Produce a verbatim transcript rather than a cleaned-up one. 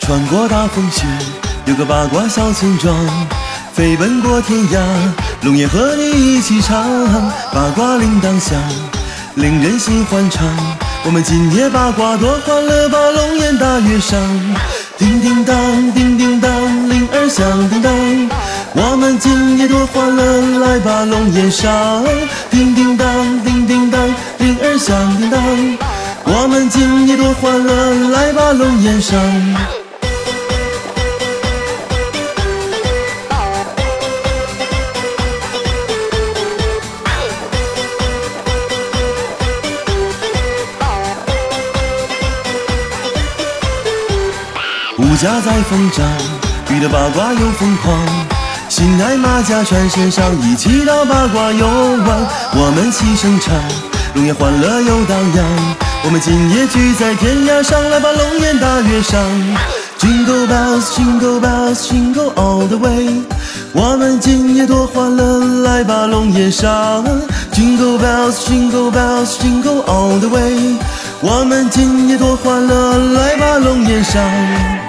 穿过大风雪，有个八卦小村庄，飞奔过天涯，龙岩和你一起唱，八卦铃铛响，令人心欢畅。我们今夜八卦多欢乐，把龙岩大悦上。叮叮当，叮叮当，铃儿响叮当。我们今夜多欢乐，来把龙岩上。叮叮当，叮叮当，铃儿响叮当。我们今夜多欢乐，来把龙岩上。物价在疯涨，遇到八卦又疯狂，心爱马甲穿身上，一起到八卦游玩。我们齐声唱，龙岩欢乐又荡漾。我们今夜聚在天涯上，来把龙岩大悦上。Jingle bells, jingle bells, jingle all the way。我们今夜多欢乐，来把龙岩上。Jingle bells, jingle bells, jingle all the way。我们今夜多欢乐，来把龙岩上。